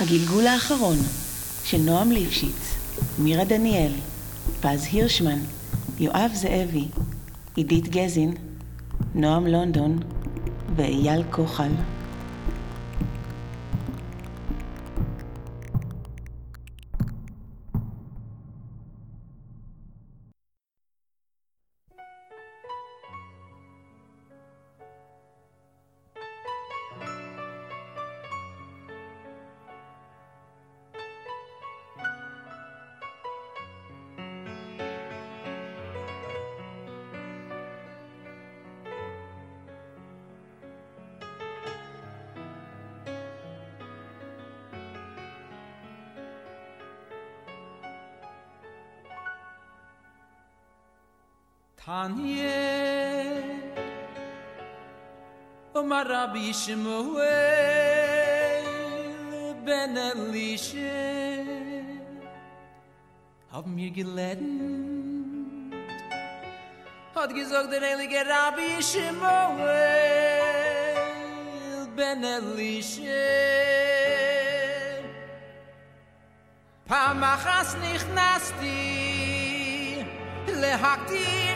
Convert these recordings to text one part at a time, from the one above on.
הגלגול האחרון של נועם ליפשיץ, מירה דניאל, פז הירשמן, יואב זאבי, עידית גזין, נועם לונדון ואייל כוחל. Tanya Omar Rabbi Shmuel Ben Elisha Hab mir geleden Hat gesagt der heilige Rabbi Shmuel Ben Elisha Pamachas nichnasti Lehaktir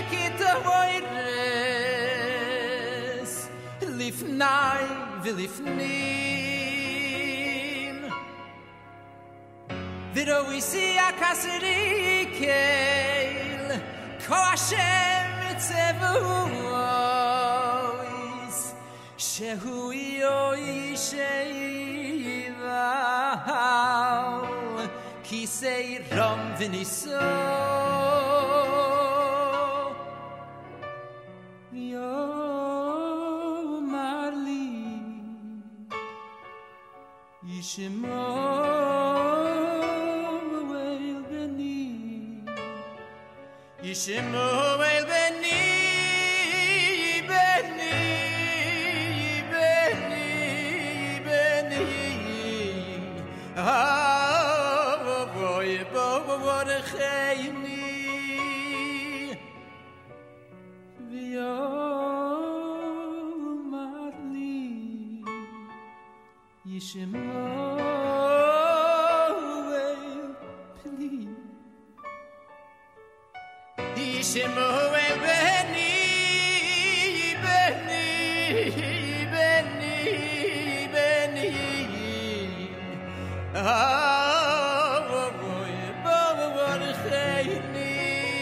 kitavoires Lifnai vilifnim Viroisi akasrikel Ko Hashem tzevuos Shehu yoi sheival Kisei ram viniso Yishmoel beni Yishmoel beni Beni Beni Beni Oh boy boy chayni V'yo marli Yishmoel beni Yishmoel beni Beni Beni Beni Oh boy boy chayni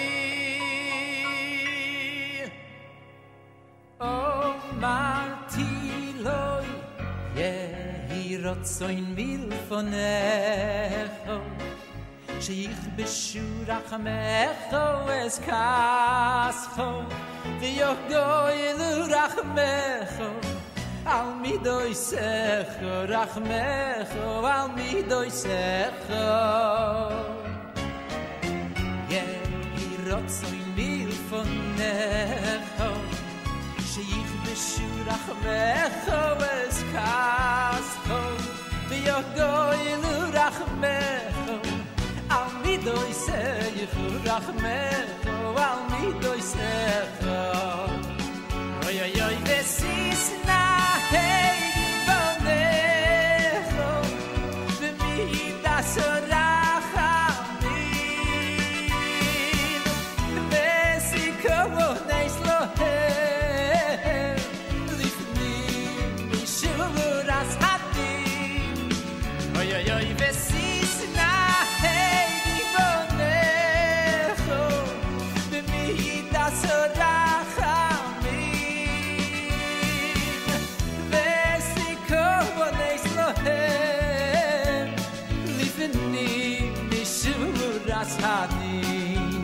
Oh martiloi Rotzoin mil fonecho Sheich beshurach mecho es kascho V'yoch goyelu rachmecho Al midoi secho rachmecho Al midoi secho Yehi rotzoin mil fonecho Sheich beshurach mecho es kascho V'yoch goyelu rachmecho Al midoi secho rachmecho Al midoi secho Oy oy oy vesisna hey vonecho V'midas rachamim Vesikovo neis lohem Lifnim mishuras hatim Oy oy oy vesisna hey vonecho V'midas Hadim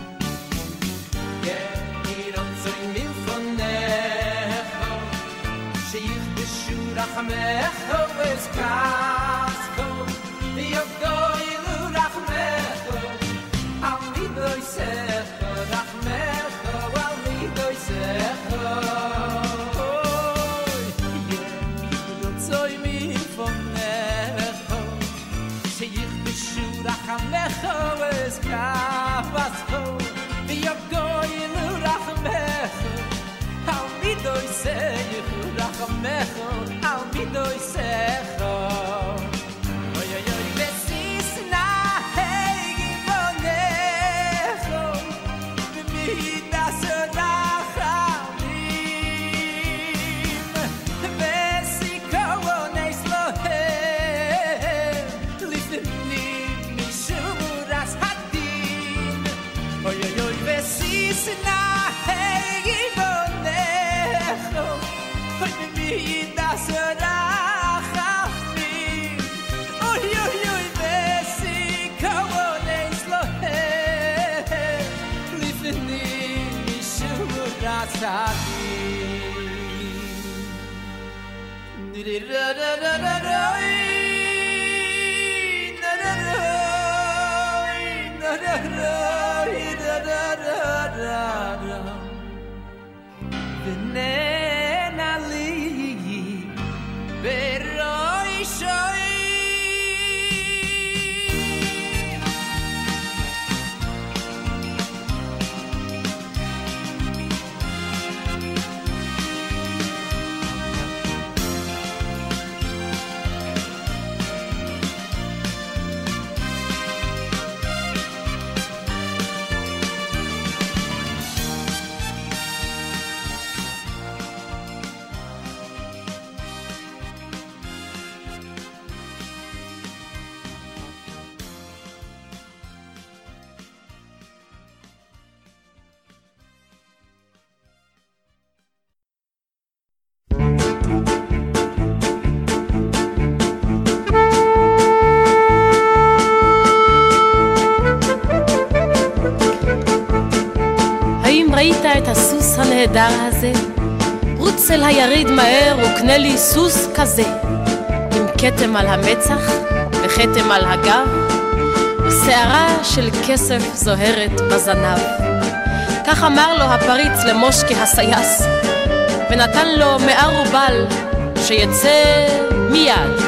Yehiron zoin mil fonecho Sheich beshurach mecho es kascho V'yoch goyelu rachmecho Al midoi secho rachmecho Al midoi secho Yehiron zoin mil fonecho Sheich beshurach mecho es kascho V'yoch goyelu rachmecho Al midoi secho rachmecho Al midoi secho ראית את הסוס הנהדר הזה? רוץ אל היריד מהר וקנה לי סוס כזה, עם כתם על המצח וכתם על הגב, ושערה של כסף זוהרת בזנב. כך אמר לו הפריץ למושקי הסייס, ונתן לו 100 רובל שיצא מיד.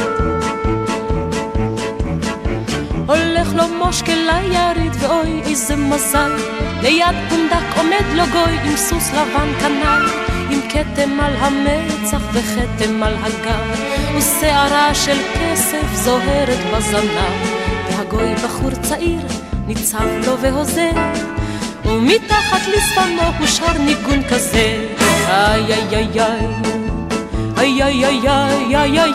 הולך לו מושקי ליריד ואוי איזה מזל, ליד פונדק עומד לו גוי עם סוס לבן כנל, עם כתם על המצח וכתם על הגב, ושערה של כסף זוהרת בזנב. והגוי בחור צעיר ניצב לו והוזר, ומתחת לשפנו הוא שר ניגון כזה, איי איי איי איי איי איי איי איי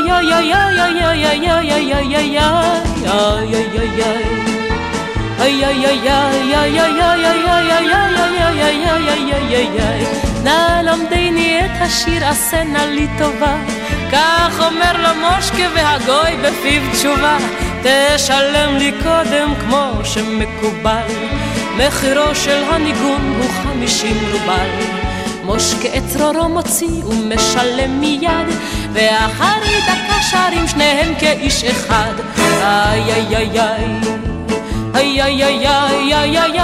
נא למדני את השיר עשה נא לי טובה, כך אומר לו מושקה והגוי בפיו תשובה, תשלם לי קודם כמו שמקובל, מחירו של הניגון הוא 50 רובל. מושקה את צרורו מוציא ומשלם מיד, ואחרי דקה שרים שניהם כאיש אחד, איי איי איי איי איי איי איי איי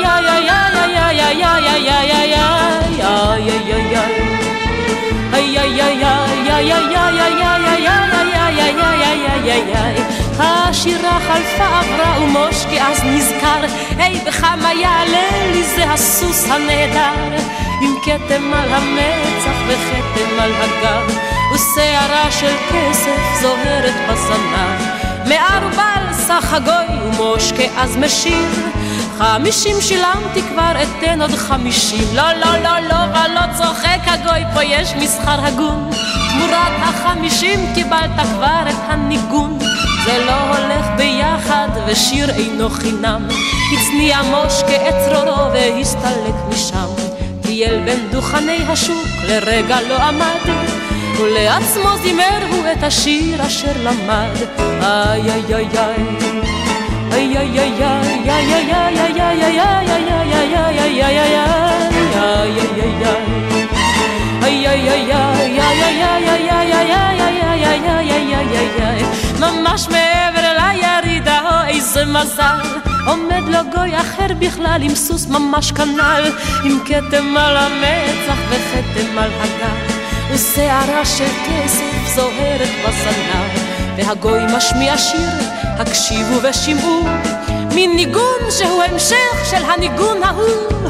השירה חלפה עברה ומושקה אז נזכר, היי בכמה יעלה לי זה הסוס הנהדר, עם כתם על המצח וכתם על הגב, ושערה של כסף זוהרת בזנב. 100 רובל סך הגוי ומושקה אז משיר, 50 שילמתי כבר אתן עוד 50. לא לא לא לא ולא צוחק הגוי, פה יש מסחר הגון, תמורת 50 קיבלת כבר את הניגון. זה לא הולך ביחד ושיר אינו חינם, הצניע מושקה את צרורו והסתלק משם. טייל בין דוכני השוק לרגע לא עמד, ולעצמו זימר הוא את השיר אשר למד, איי איי איי איי איי איי איי, ממש מעבר לירידה, איזה מזל, עומד לו גוי אחר בכלל עם סוס ממש כנל, עם כתם על המצח וכתם על הגב, ושערה של כסף זוהרת בזנב. והגוי משמיע שיר, הקשיבו ושמעו, מין ניגון שהוא המשך של הניגון ההוא.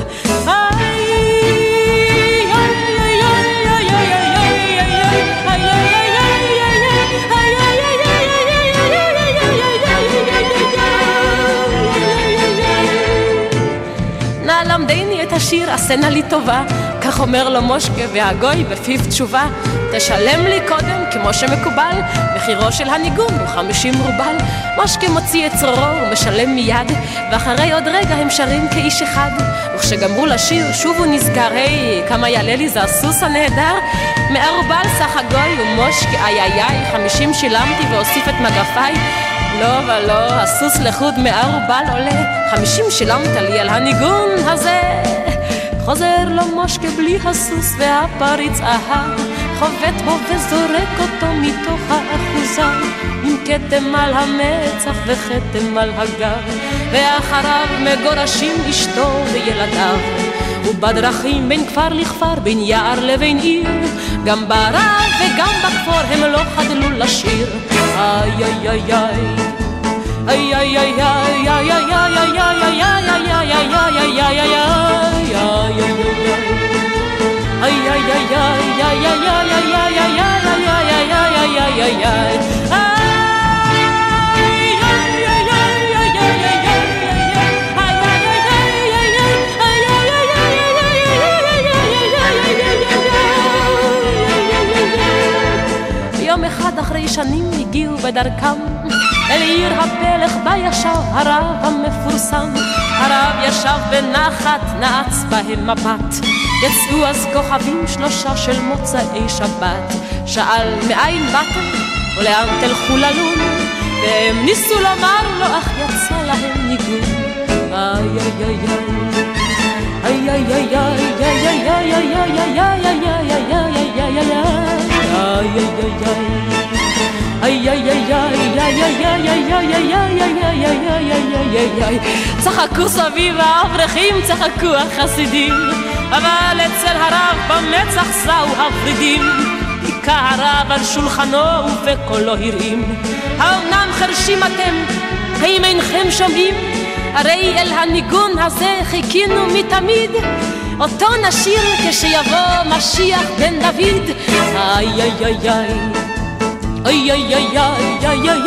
נא למדני את השיר עשה נא לי טובה, כך אומר לו מושקה והגוי בפיו תשובה, תשלם לי קודם כמו שמקובל, מחירו של הניגון הוא 50 רובל. מושקה מוציא את צרורו ומשלם מיד, ואחרי עוד רגע הם שרים כאיש אחד, וכשגמרו לשיר שוב הוא נזכר, היי כמה יעלה לי זה הסוס הנהדר. 100 רובל סך הגוי ומושקה איי איי איי, 50 שילמתי והוסיף את מגפיי. לא ולא, הסוס לחוד 100 רובל עולה, 50 שילמת לי על הניגון הזה. חוזר לו מושקה בלי הסוס והפריץ אהב, חובט בו וזורק אותו מתוך האחוזה, עם כתם על המצח וכתם על הגב, ואחריו מגורשים אשתו וילדיו. ובדרכים בין כפר לכפר, בין יער לבין עיר, גם בערב וגם בכפור הם לא חדלו לשיר. איי איי איי איי איי איי איי איי יום אחד אחרי שנים הגיעו בדרכם אל עיר הפלך בה ישב הרב המפורסם. הרב ישב בנחת, נעץ בהם מבט. יצאו אז כוכבים שלושה של מוצאי שבת. שאל מאין באתם ולאן תלכו ללון, והם ניסו לומר לו אך יצא להם ניגון. איי איי איי איי איי איי איי איי איי איי צחקו סביב האברכים, צחקו החסידים, אבל אצל הרב במצח זהו הפרידים. היכה הרב על שולחנו ובקולו הרעים, האומנם חרשים אתם? האם אינכם שומעים? הרי אל הניגון הזה חיכינו מתמיד, אותו נשיר כשיבוא משיח בן דוד. איי איי איי איי איי איי איי איי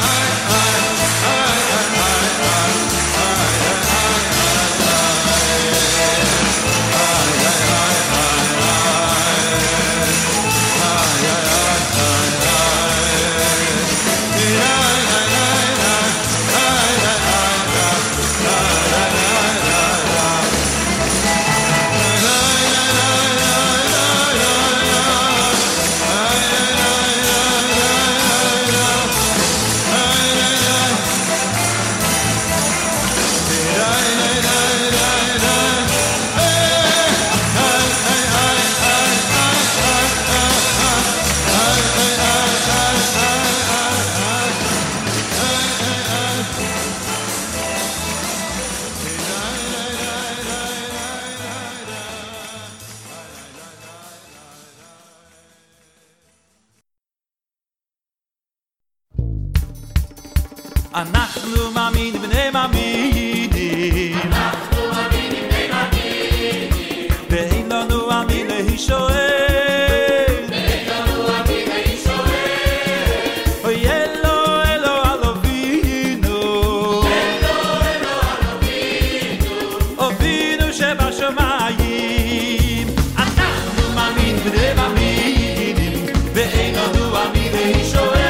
אנחנו מאמינים בני מאמינים, אנחנו מאמינים בני מאמינים, ואין לנו אמין להישואל, ואין לנו אמין להישואל, אוי אלו אלו על אבינו, אלו אלו על אבינו, אבינו שבשמיים. אנחנו מאמינים בני מאמינים, ואין לנו אמין להישואל,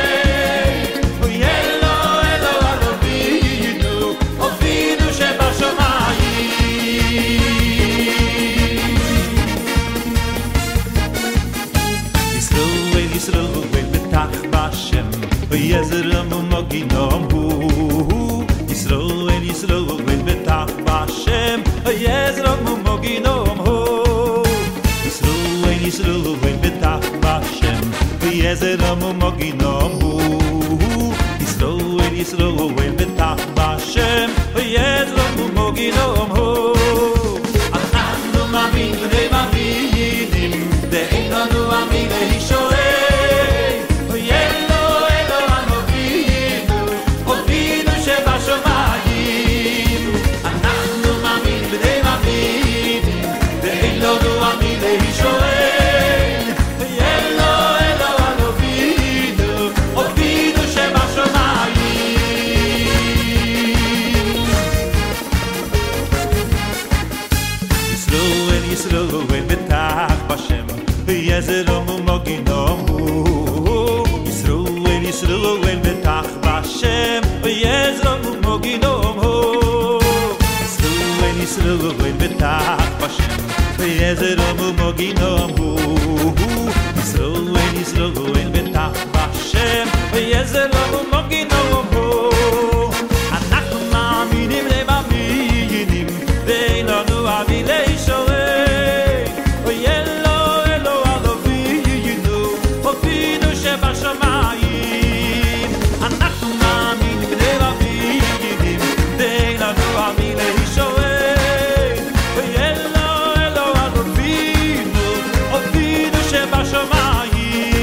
יזרם ומגינם הוא ישראל ישראל ובטח בשם יזרם ומגינם הוא ישראל ישראל ובטח בשם יזרם ומגינם הוא ישראל ישראל ובטח בשם יזרם ומגינם הוא. אנחנו מאמינים ואין לנו אמין להישואל, יזרם ומגינם הוא ישראל ישראל בטח בשם יזרם ומגינם הוא ישראל ישראל בטח בשם יזרם ומגינם הוא ישראל ישראל בטח בשם יזרם ומגינם הוא. אנחנו מאמינים למאמינים ואין לנו אמין להישואל, אנחנו מאמינים בני מאמינים ואין לנו אמין להישואל, אלו אלו על אבינו שבשמיים.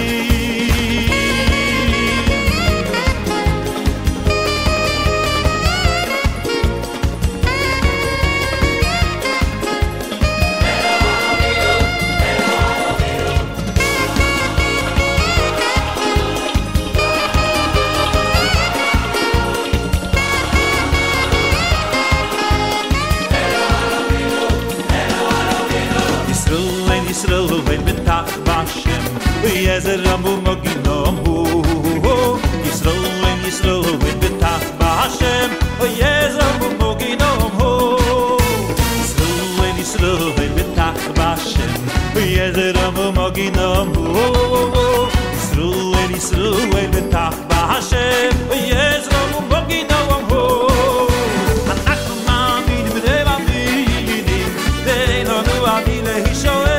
יזרם ומגינם הוא ישראל ישראל בטח בשם יזרם ומגינם הוא ישראל ישראל בטח בשם יזרם ומגינם הוא ישראל ישראל בטח בשם יזרם ומגינם הוא. אנחנו מאמינים בני מאמינים ואין לנו אמין להישואל,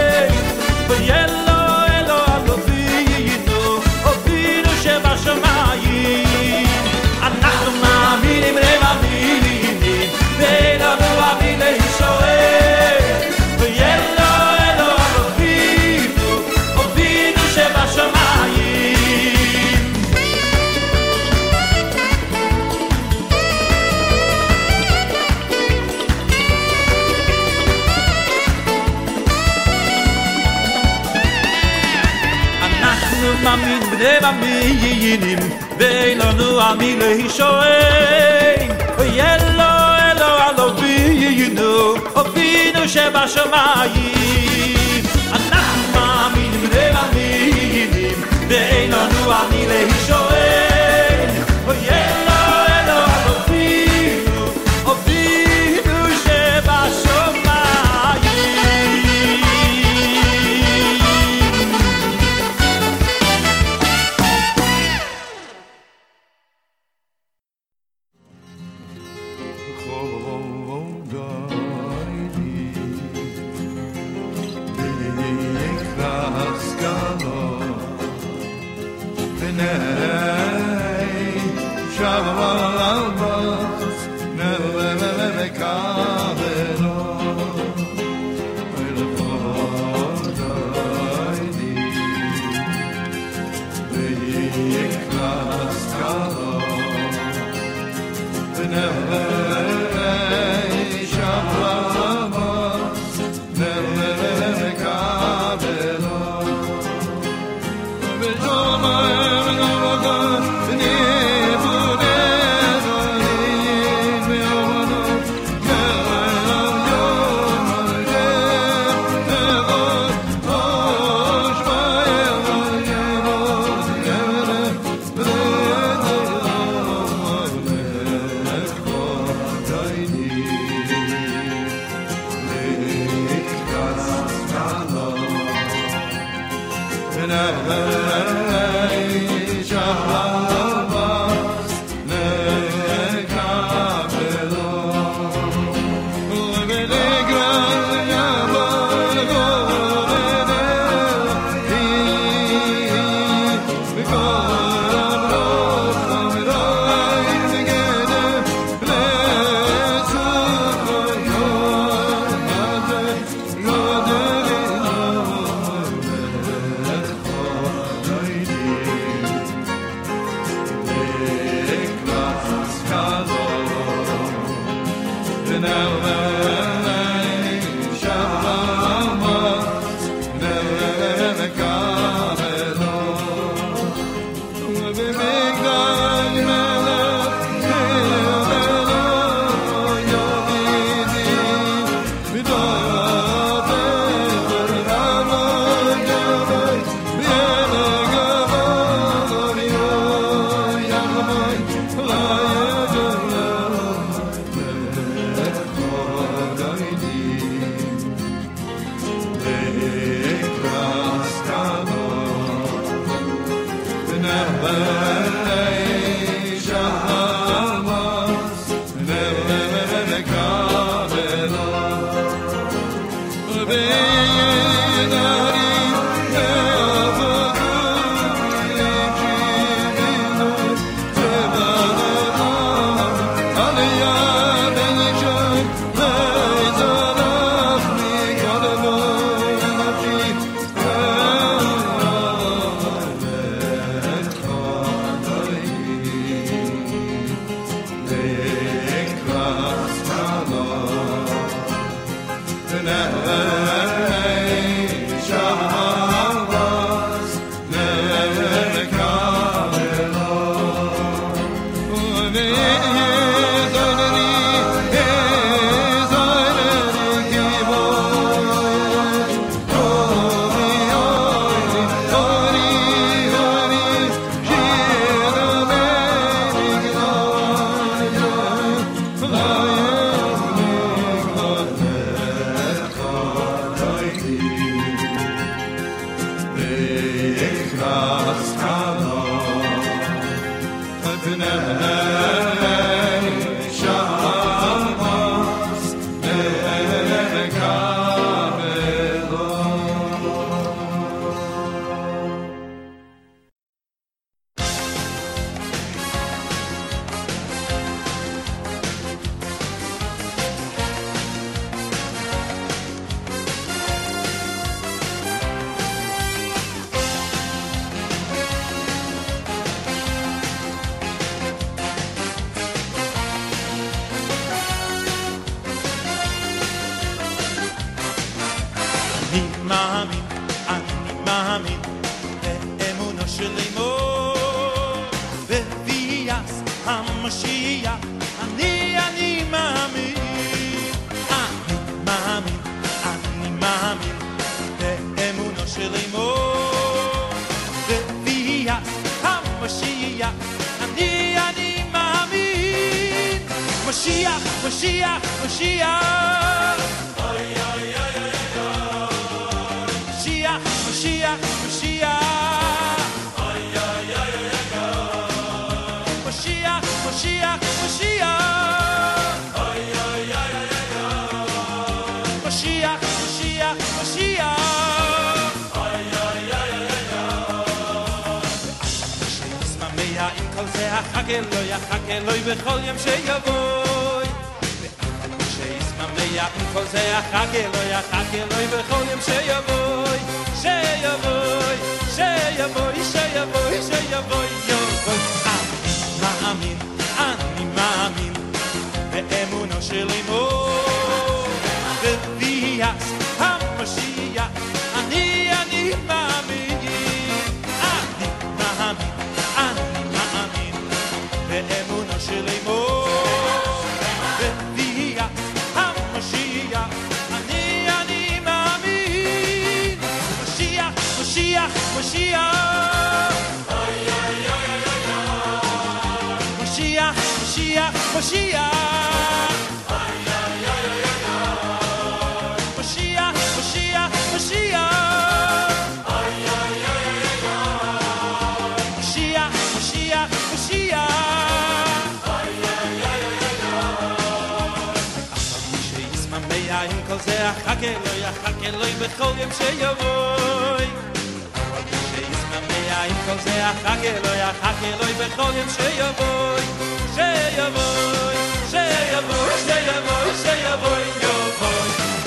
אנחנו מאמינים למאמינים ואין לנו אמין להישואל, אלו אלו על אבינו שבשמיים. אנחנו מאמינים בני מאמינים ואין לנו עמי להישוען יאלו אלו אלובינו אבינו שבשמיים אנחנו מאמינים ומאמינים ואין לנו עמי להישוען יאלו אלו אלובינו אבינו שבשמיים המשיח, אני מאמין, אני מאמין באמונו של אמו וביאת המשיח, אני מאמין, משיח, משיח, משיח, אוי אוי אוי אוי משיח, משיח, משיח, אוי אוי אוי משיח, משיח, משיח, אוי אוי אוי משיח, משיח, משיח, אוי אוי אוי שישמח עם כל זה החג אלוהי בכל יום שיבוא, שישמח עם כל זה החג אלוהי בכל יום שיבוא, שיבוא, שיבוא, שיבוא, שיבוא, יבוא. מאמין, אני מאמין באמונו של אמו וביאת המשיח, אני מאמין, אני מאמין, אני מאמין באמונו של אמו וביאת המשיח, אני מאמין, משיח, משיח, משיח, Mashiach, Mashiach, Mashiach, Mashiach, Mashiach, Mashiach, Mashiach, Mashiach, Mashiach. שישמח עם כל זה החג אלוהי בכל יום שיבוא, עם כל זה החג אלוהי בכל יום שיבוא, שיבוא, שיבוא, שיבוא, שיבוא, יבוא.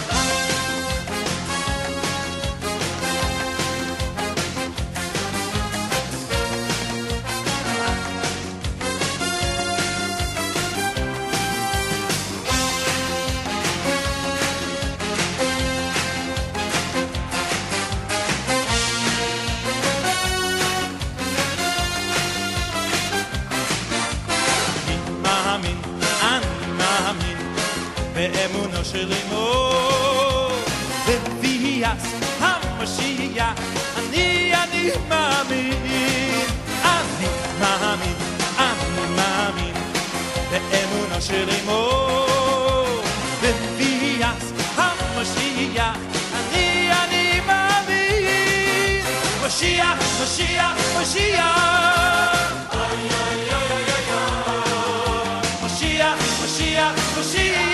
באמונו של אמו וביאת המשיח, אני מאמין, אני מאמין, אני מאמין באמונו של אמו וביאת המשיח, אני מאמין, משיח, משיח, משיח, אוי אוי אוי משיח, משיח, משיח,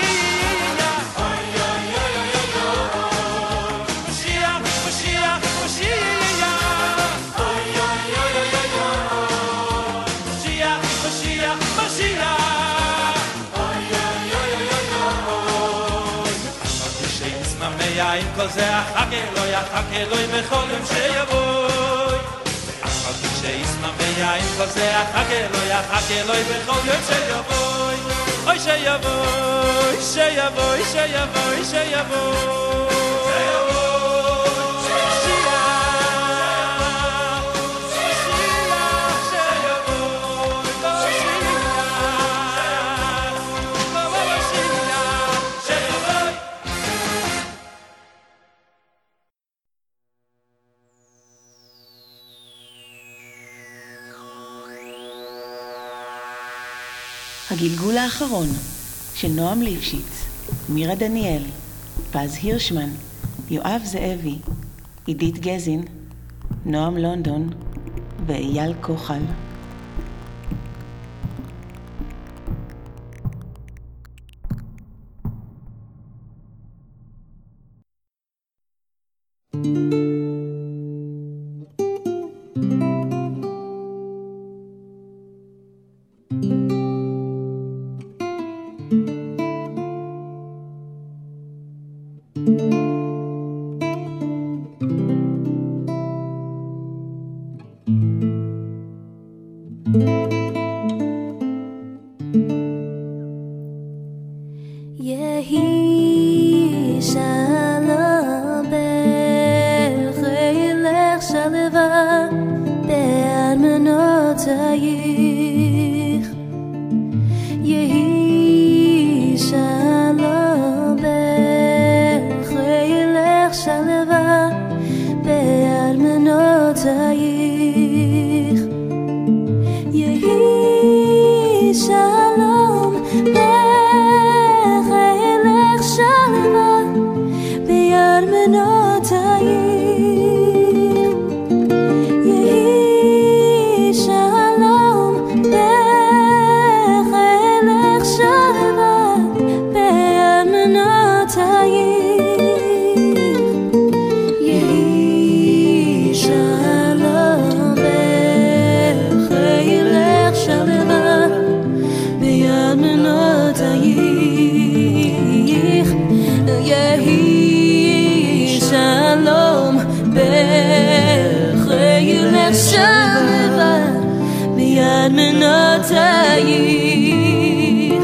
עם כל זה החג אלוהי בכל יום שיבוא, אחת שישמח עם כל זה החג אלוהי בכל יום שיבוא, אוי שיבוא, שיבוא, שיבוא, שיבוא, הגלגול האחרון של נועם ליפשיץ, מירה דניאל, פז הירשמן, יואב זאבי, עידית גזין, נועם לונדון ואייל כוחל. שלום בחילך שלווה בארמנותייך יהי שלום בחילך שלווה בארמנותייך יהי שלום בחילך שלווה בארמנותייך יהי שלום בחילך שלווה בארמנותייך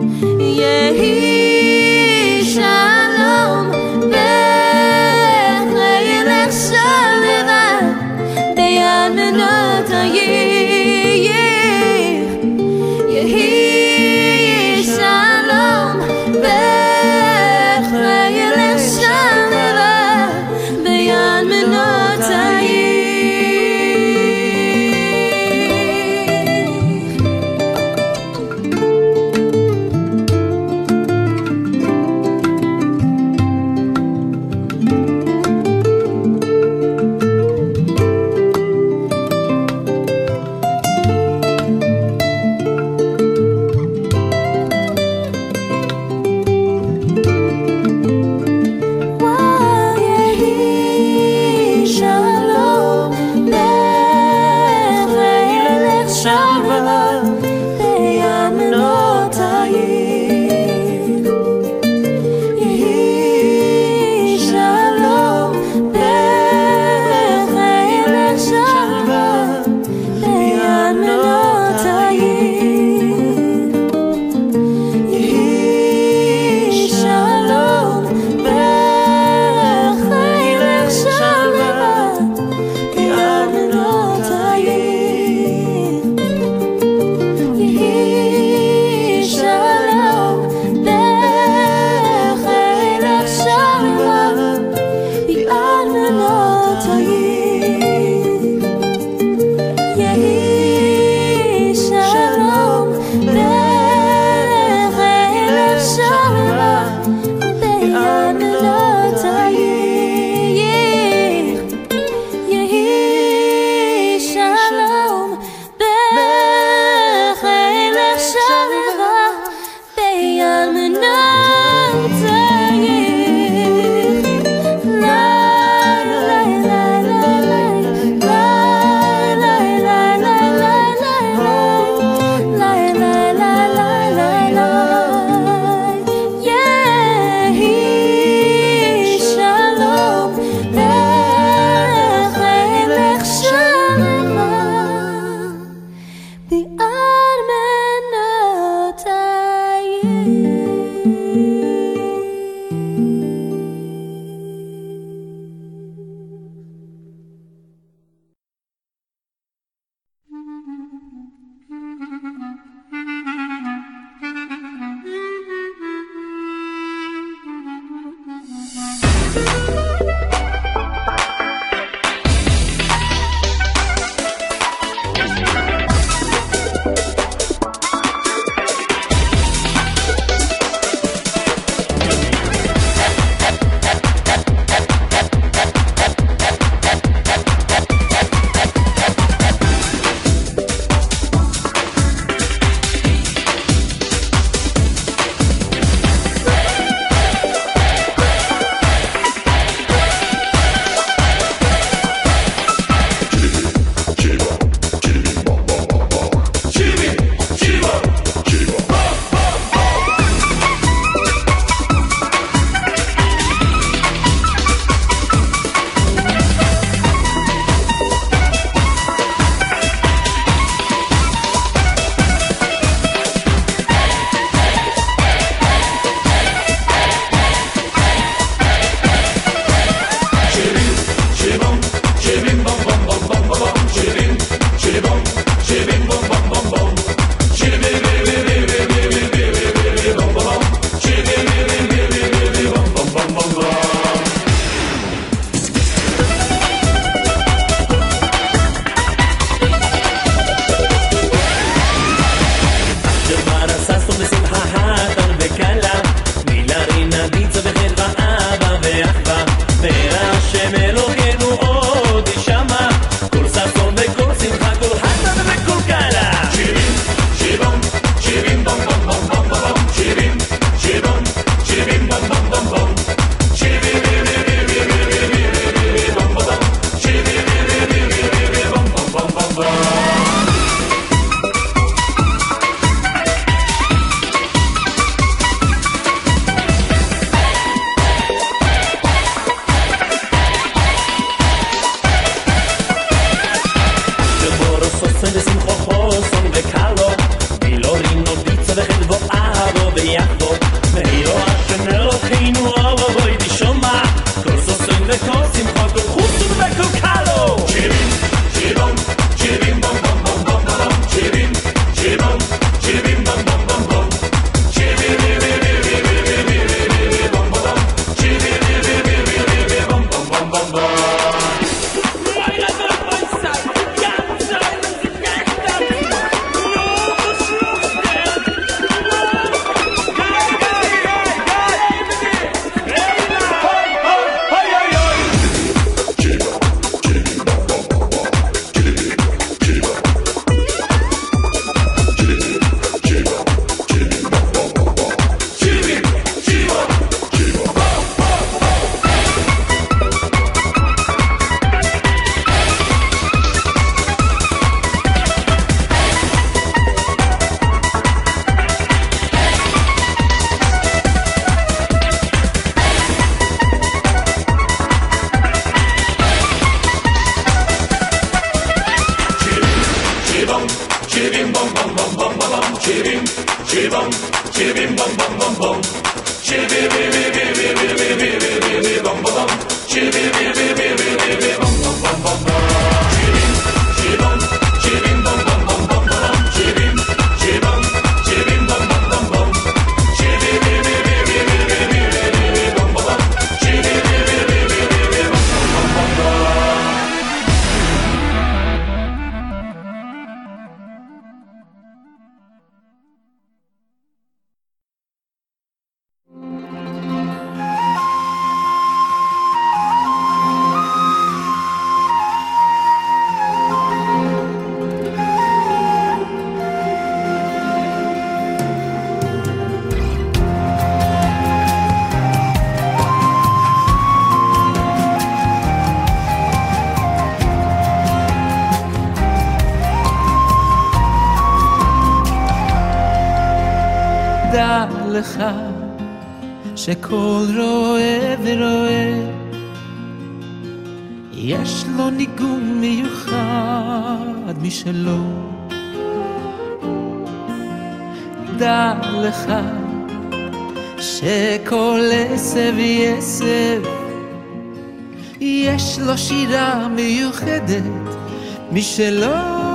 יהי שלום בחילך שלווה בארמנותייך יהי שלום בחילך שלווה בארמנותייך Chiribim bom bom bom bom bom bom. Chiribim, chiribom, chiribim bom bom bom bom. Chiribim bom bom bom. Chiribim bom bom bom bom bom. Chiribim, chiribom, chiribim bom bom bom bom bom. Chiribim, chiribom, chiribim bom bom bom bom. Chiribim bom bom bom. Chiribim bom bom bom bom. דע לך שכל רואה ורואה יש לו ניגון מיוחד משלו. דע לך שכל עשב יעשב יש לו שירה מיוחדת משלו,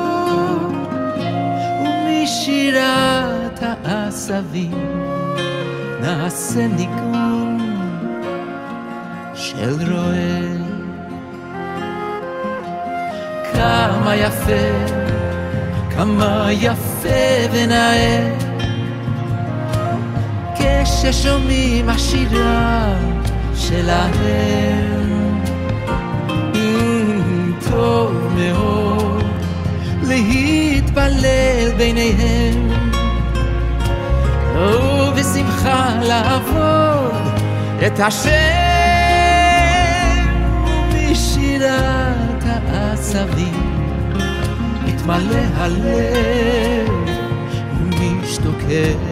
ומשירת העשבים נעשה ניגון של רועה. כמה יפה, כמה יפה ונאה כששומעים השירה שלהם. טוב מאוד להתפלל ביניהם ובשמחה לעבוד את השם, ומשירת העשבים מתמלא הלב ומשתוקק.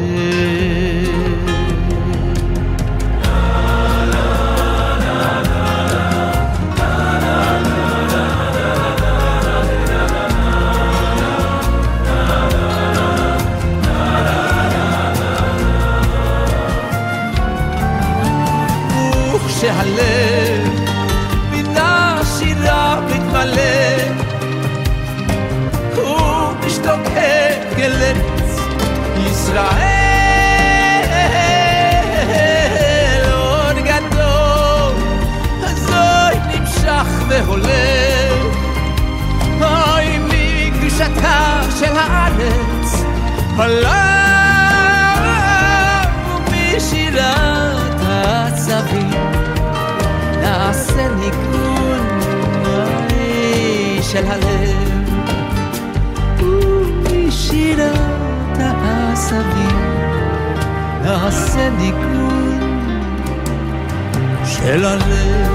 שהלב מן השירה מתמלא ומשתוקק אל ארץ ישראל. עוד גדול הזוי נמשך והולך, אוי מקדושתה של הארץ עולם, ומשירת העשבים נעשה ניגון של הלב, ומשירת העשבים נעשה ניגון של הלב.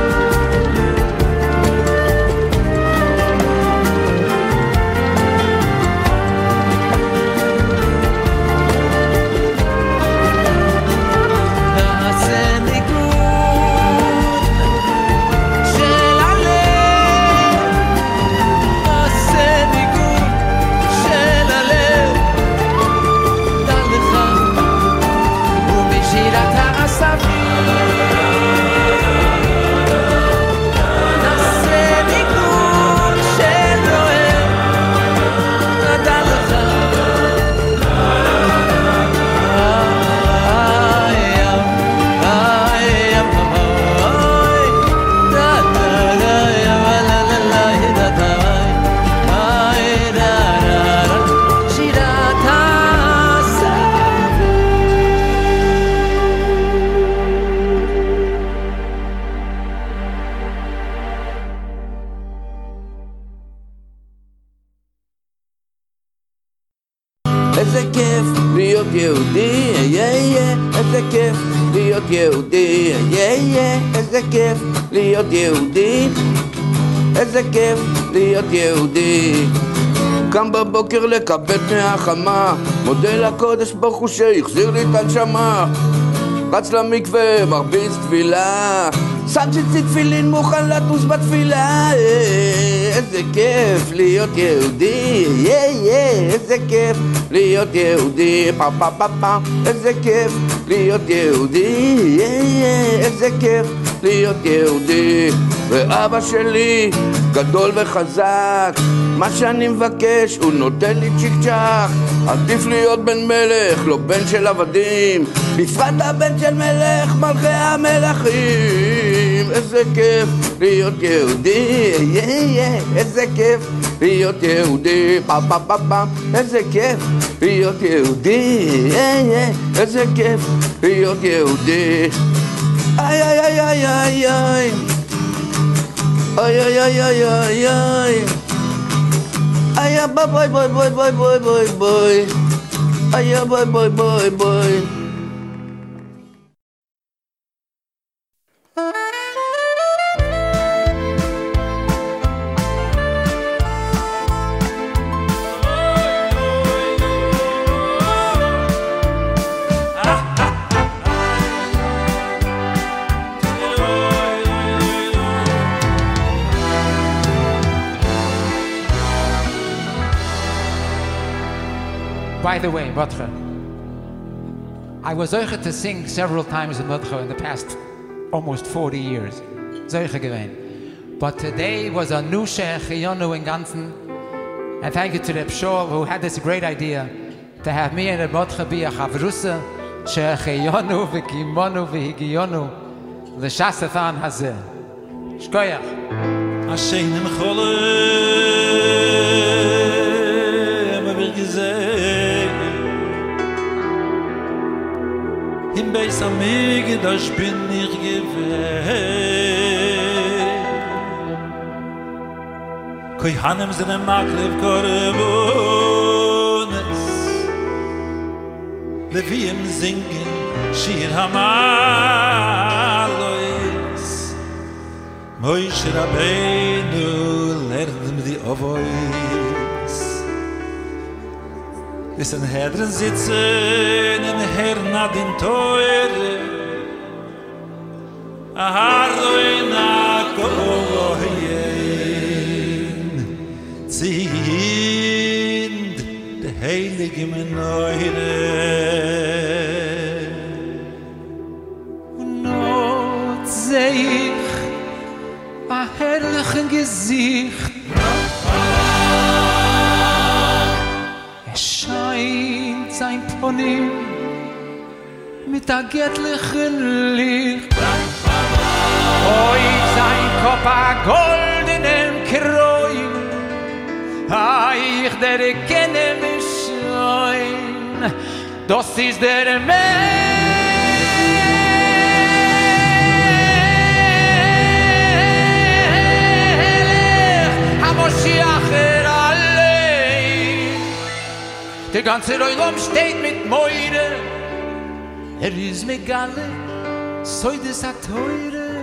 איזה כיף להיות יהודי, איזה כיף להיות יהודי, איזה כיף להיות יהודי, איזה כיף להיות יהודי. קם בבוקר לקבל מהחמה, מודה לקודש ברוך הוא שהחזיר לי את הנשמה, רץ למקווה מרביץ תפילה, סנצ'צי תפילין מוכן לטוס בתפילה, איזה כיף להיות יהודי, איזה כיף להיות יהודי, פה פה פה פה, איזה כיף להיות יהודי, איזה כיף להיות יהודי. ואבא שלי גדול וחזק, מה שאני מבקש הוא נותן לי צ'יק צ'ק. עדיף להיות בן מלך, לא בן של עבדים, בפרט הבן של מלך מלכי המלכים. איזה כיף להיות יהודי, איזה כיף להיות יהודי, פה פה פה פה, איזה כיף להיות יהודי, איזה כיף להיות יהודי. איי איי איי איי איי איי איי איי איי איי איי איי bye bye bye bye bye bye bye bye ay bye bye bye bye. By the way, Motcha, I was zeiche to sing several times in Motcha in the past almost 40 years. Zeiche gewesen. But today was a new Sheikh Yonu in Ganzen. And thank you to the Pshol who had this great idea to have me and the Motcha be a Chavrusa, Sheikh Yonu, Vikimonu, Vihigiyonu, the Shasathan Hazeh. Shkoyach. Hashem in Cholem, wir gesehen. Im Beis Hamikdash bin ich gewesen. Kohanim sind im Maklev Korbones, Levim singen Shir Hamalois, Moshe Rabbeinu lernt die Ovois. Es in Hedren sitzen in Herrn Adin Teure, Ahardoin Akoyen, Zind de Heilige Meneure. Not seh ich a herrlichen Gesicht, scheint sein Ponym mit a göttlichen Licht. Oi, sein Kopf a goldenem Kreuz, ich der kenne mich schon, das ist der Melech, HaMoshiach der ganze Raum steht mit Meure. Ist Megale, so das a teure.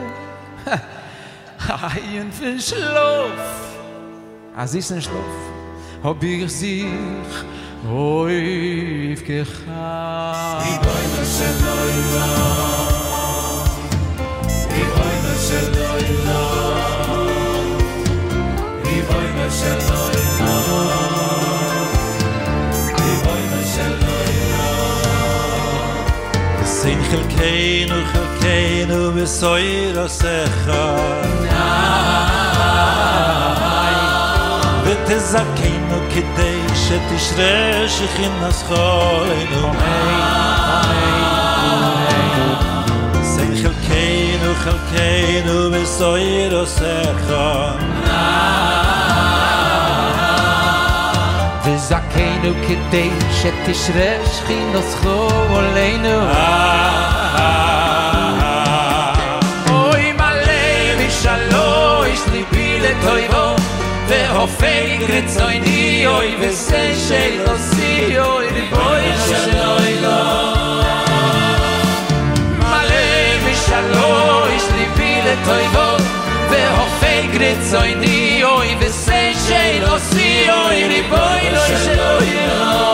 Ein für Schlaf, als ist ein Schlaf, hab ich sich aufgehabt. Die Bäume של Leila, die Bäume של Leila, die Bäume של Leila. Sein Chelkeinu besoira secha ותזכנו כדי שתשרה שכינה זכוינו sein Chelkeinu besoira secha וזכנו כדי שתשרה שכינה זכוינו אוי מלא משלוש ליבי לטויבו והופק רצויני אוי וזה שלוסי אוי ריבוי שלוי לו מלא משלוש ליבי לטויבו והופק רצויני אוי וזה שלוסי אוי ריבוי שלוי לו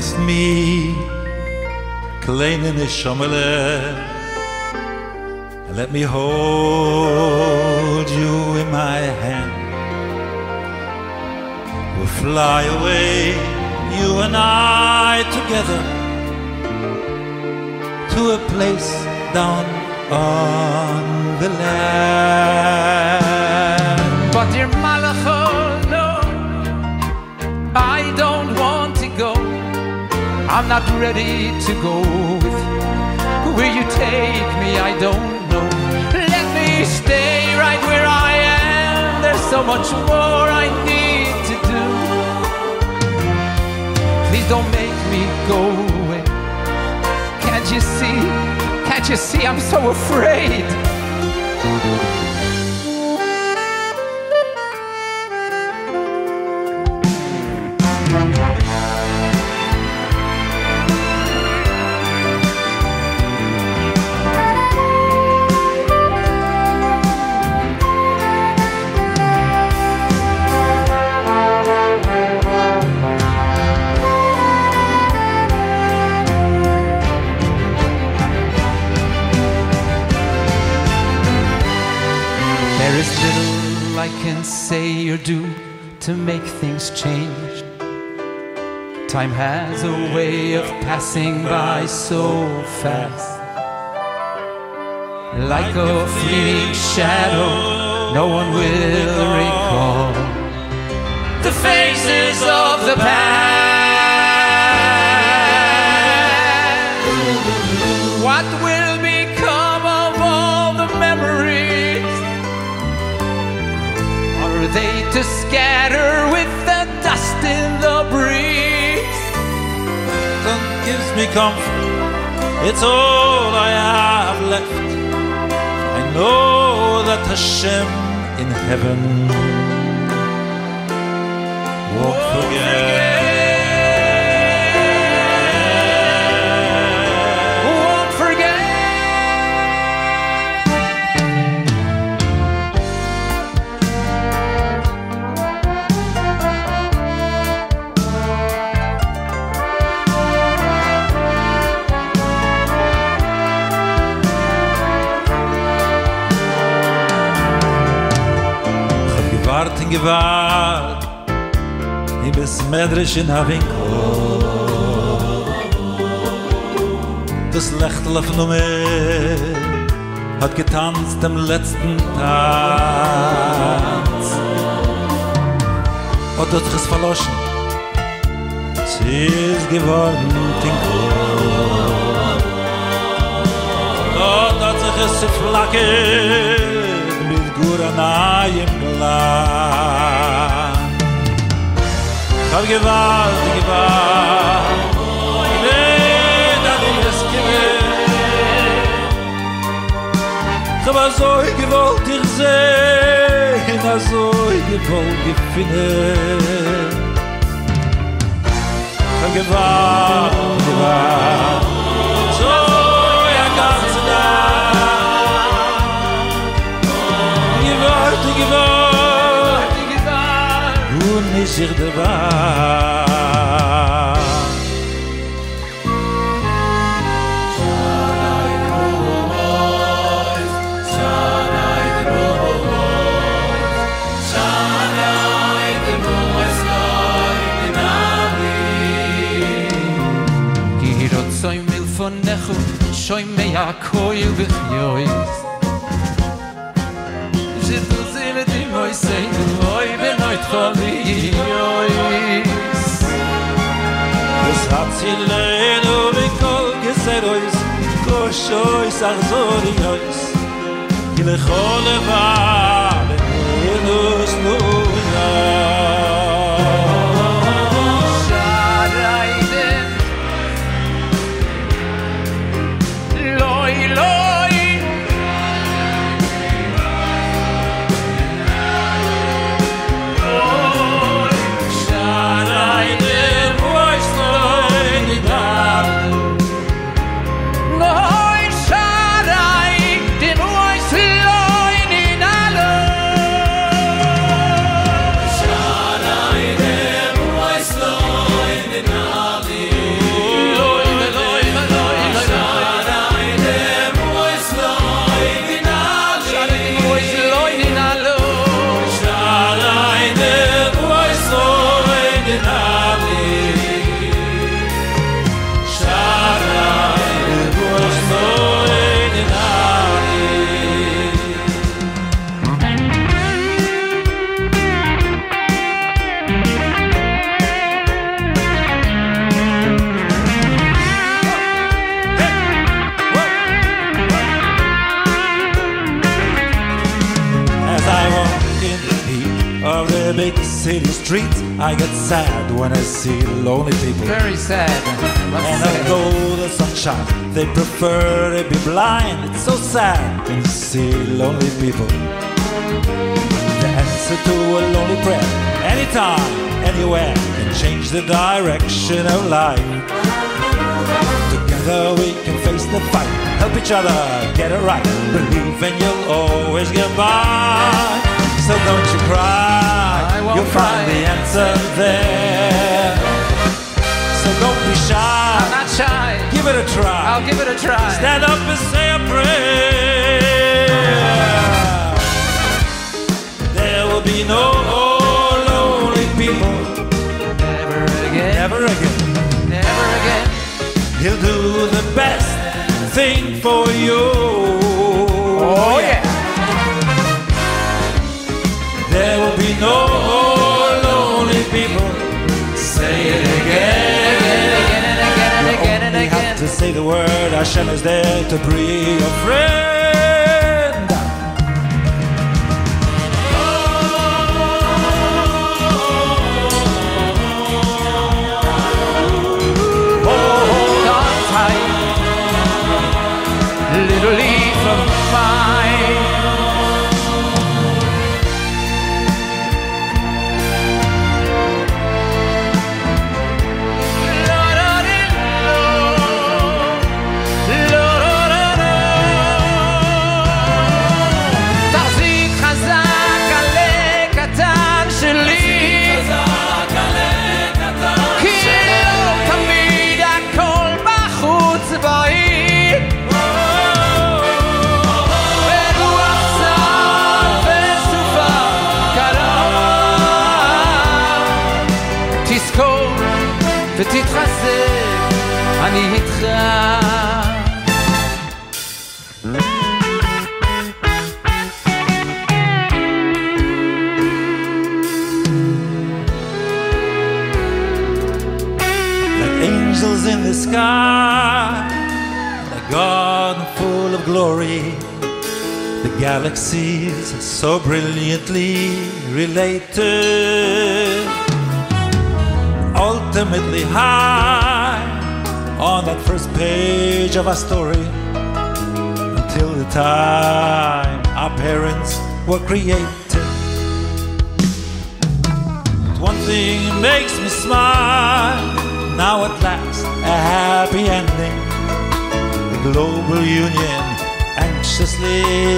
promised me, kleine Neshomele, and let me hold you in my hand. We'll fly away, you and I together, to a place down on the land. But dear Malacha, no, I don't want to go. I'm not ready to go with you. Where you take me, I don't know. Let me stay right where I am. There's so much more I need to do. Please don't make me go away. Can't you see? Can't you see I'm so afraid? There is little I can say or do to make things change. Time has a way of passing by so fast. Like a fleeting shadow, no one will recall the faces of the past. What will become of all the memories? Are they to scatter with the dust in the breeze? That gives me comfort, it's all I have left. I know that Hashem in heaven won't forget. Won't forget. Gewart in gewart, I bis medrisch in Havinko. Das Lechtel auf Nummer hat getanzt am letzten Tanz. Und hat sich es verloschen, sie ist geworden Tinko. Dort hat sich es zerflackert mit Guranayim Glan. Hab gewalt, ich hab so gewollt dich sehen, so gewollt gefinnen. Ich hab gewalt, so ja ganz nah. Gewalt, und nicht sich der Wahl. Shoy me a koil b'choyz Z'du zile di moy say Oy benoit choyz Es hat sie lehnu mikol geserois Koshois achzoriois Ki lechol levar Enus nuya the big city streets, I get sad when I see lonely people. Very sad. And although the sun shines, they prefer to be blind. It's so sad when you see lonely people. The answer to a lonely prayer, anytime, anywhere, can change the direction of life. Together we can face the fight, help each other get it right, believe and you'll always get by. So don't you cry, you'll find the answer there. So don't be shy, I'm not shy. give it a try. I'll give it a try. Stand up and say a prayer. There will be no lonely people. Never again. Never again. Never again. He'll do the best thing for you. Oh yeah. There will be no lonely people. Say it again. Again and again and again and You again. have to say the word. Hashem is there to bring your friend. Hold on tight, little leaf of mine. תחזיק חזק עלה קטן שלי, כי לא תמיד הכל בחוץ בעיר. ברוח צר וסופה קרה, תזכור ותתחזק, אני איתך. Like angels in the sky, a garden full of glory. The galaxies so brilliantly related, ultimately high on that first page of our story, until the time our parents were created. But one thing makes me smile, now at last a happy ending. The global union anxiously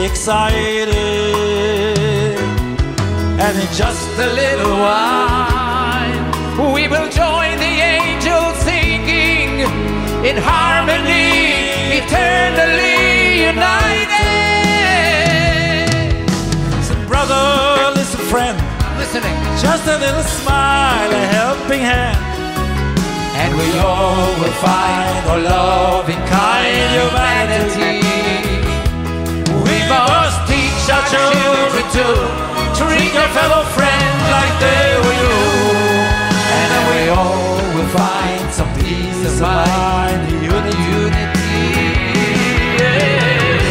excited, and in just a little while We will join the angels singing in harmony, eternally united. listen brother, listen friend, Listening, just a little smile, a helping hand, and we all will find our loving kind humanity. We must teach our children to treat your fellow friends like they were you, and then we all will find some peace of mind, unity. Yeah.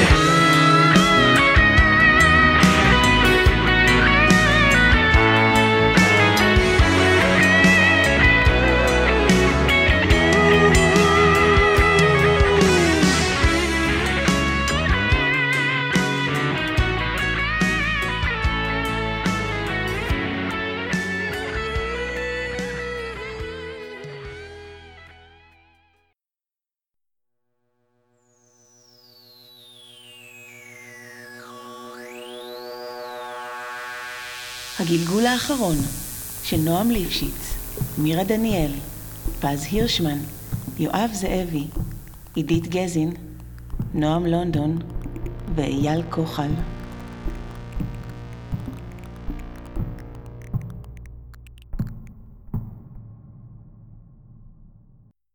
הגלגול האחרון של נועם ליפשיץ, מירה דניאל, פז הירשמן, יואב זאבי, עידית גזין, נועם לונדון ואייל כוחל.